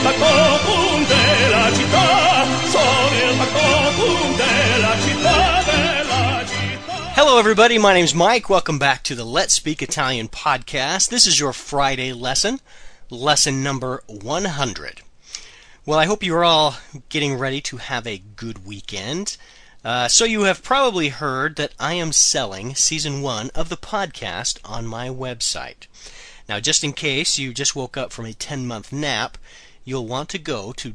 factotum della città, sono il factotum della città, della città. Hello everybody, my name's Mike. Welcome back to the Let's Speak Italian podcast. This is your Friday lesson number 100. Well, I hope you're all getting ready to have a good weekend. So you have probably heard that I am selling Season 1 of the podcast on my website. Now, just in case you just woke up from a 10-month nap, you'll want to go to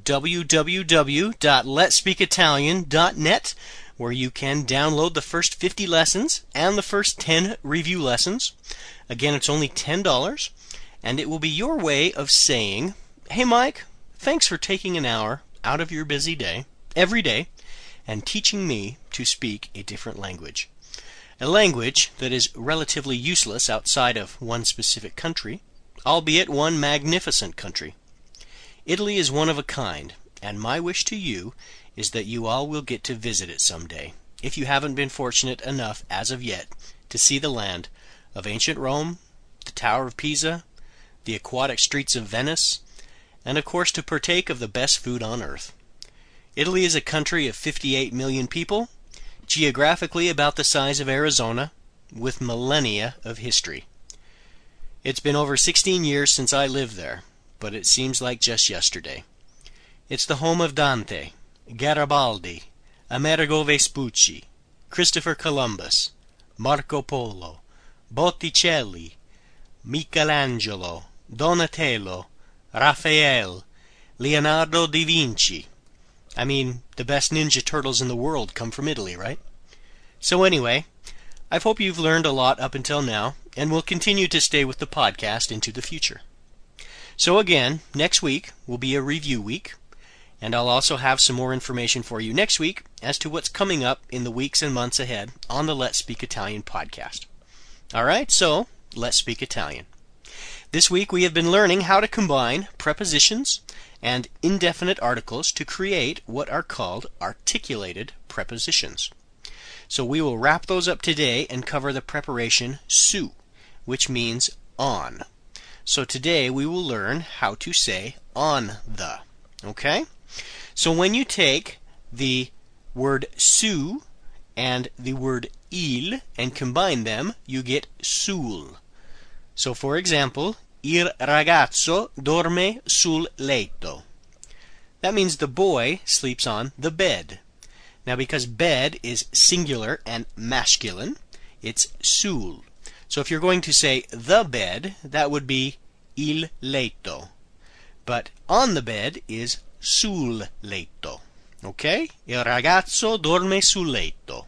www.letspeakitalian.net, where you can download the first 50 lessons and the first 10 review lessons. Again, it's only $10, and it will be your way of saying, "Hey Mike, thanks for taking an hour out of your busy day, every day, and teaching me to speak a different language. A language that is relatively useless outside of one specific country, albeit one magnificent country. Italy is one of a kind, and my wish to you is that you all will get to visit it someday, if you haven't been fortunate enough as of yet to see the land of ancient Rome, the Tower of Pisa, the aquatic streets of Venice, and of course to partake of the best food on earth. Italy is a country of 58 million people, geographically about the size of Arizona, with millennia of history. It's been over 16 years since I lived there, but it seems like just yesterday. It's the home of Dante, Garibaldi, Amerigo Vespucci, Christopher Columbus, Marco Polo, Botticelli, Michelangelo, Donatello, Raphael, Leonardo da Vinci. I mean, the best Ninja Turtles in the world come from Italy, right? So anyway, I hope you've learned a lot up until now, and will continue to stay with the podcast into the future. So again, next week will be a review week, and I'll also have some more information for you next week as to what's coming up in the weeks and months ahead on the Let's Speak Italian podcast. Alright, so let's speak Italian. This week we have been learning how to combine prepositions and indefinite articles to create what are called articulated prepositions. So we will wrap those up today and cover the preparation su, which means on. So today we will learn how to say on the. Okay? So when you take the word su and the word il and combine them, you get sul. So for example, il ragazzo dorme sul letto. That means the boy sleeps on the bed. Now because bed is singular and masculine, it's sul. So if you're going to say the bed, that would be il letto. But on the bed is sul letto. Okay? Il ragazzo dorme sul letto.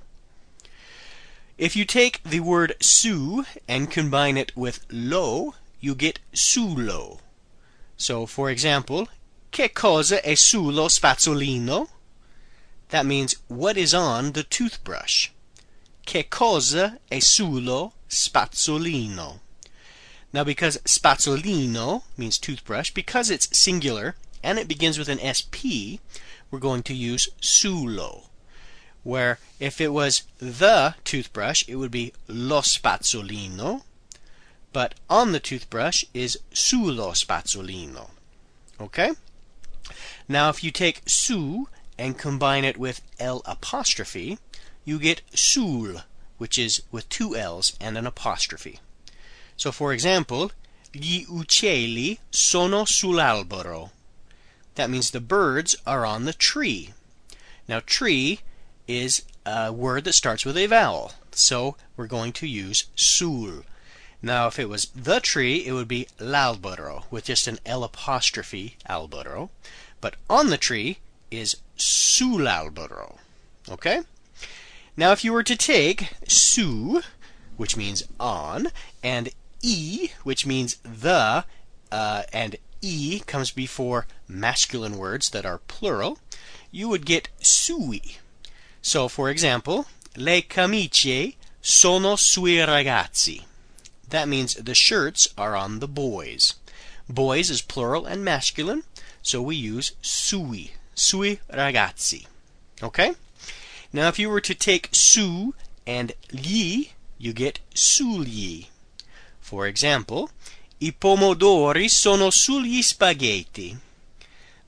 If you take the word su and combine it with lo, you get sulo. So, for example, che cosa è sullo spazzolino? That means, what is on the toothbrush? Che cosa è sullo spazzolino? Now, because spazzolino means toothbrush, because it's singular and it begins with an SP, we're going to use sulo. Where if it was the toothbrush, it would be lo spazzolino, but on the toothbrush is sullo spazzolino. Okay? Now if you take su and combine it with L apostrophe, you get sul, which is with two L's and an apostrophe. So for example, gli uccelli sono sull'albero. That means the birds are on the tree. Now tree is a word that starts with a vowel, so we're going to use sul. Now if it was the tree, it would be l'albero, with just an L apostrophe, albero. But on the tree is sull'albero. Okay? Now if you were to take su, which means on, and e, which means the, and e comes before masculine words that are plural, you would get sui. So, for example, le camicie sono sui ragazzi. That means the shirts are on the boys. Boys is plural and masculine, so we use sui, sui ragazzi. Okay? Now, if you were to take su and gli, you get sugli. For example, I pomodori sono sugli spaghetti.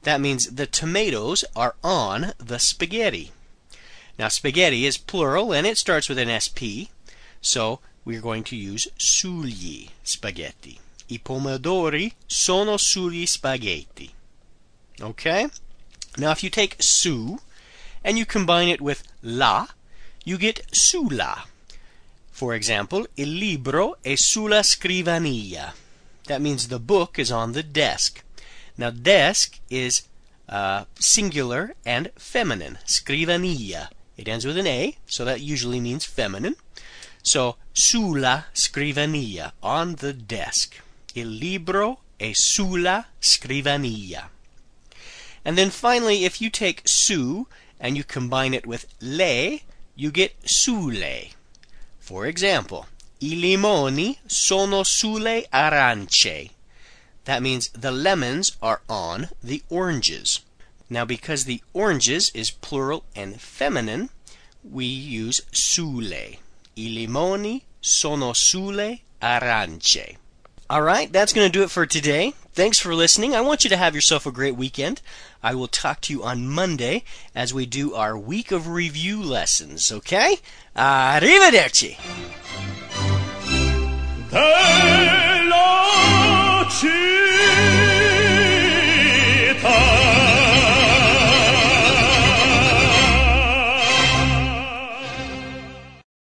That means the tomatoes are on the spaghetti. Now, spaghetti is plural, and it starts with an SP, so we're going to use sugli spaghetti. I pomodori sono sugli spaghetti. Okay? Now, if you take su and you combine it with la, you get sulla. For example, il libro è sulla scrivania. That means the book is on the desk. Now, desk is singular and feminine. Scrivania. It ends with an A, so that usually means feminine. So, sulla scrivania, on the desk. Il libro è sulla scrivania. And then finally, if you take su and you combine it with le, you get sulle. For example, I limoni sono sulle arance. That means the lemons are on the oranges. Now, because the oranges is plural and feminine, we use sulle. I limoni sono sulle arance. All right, that's going to do it for today. Thanks for listening. I want you to have yourself a great weekend. I will talk to you on Monday as we do our week of review lessons, okay? Arrivederci! Della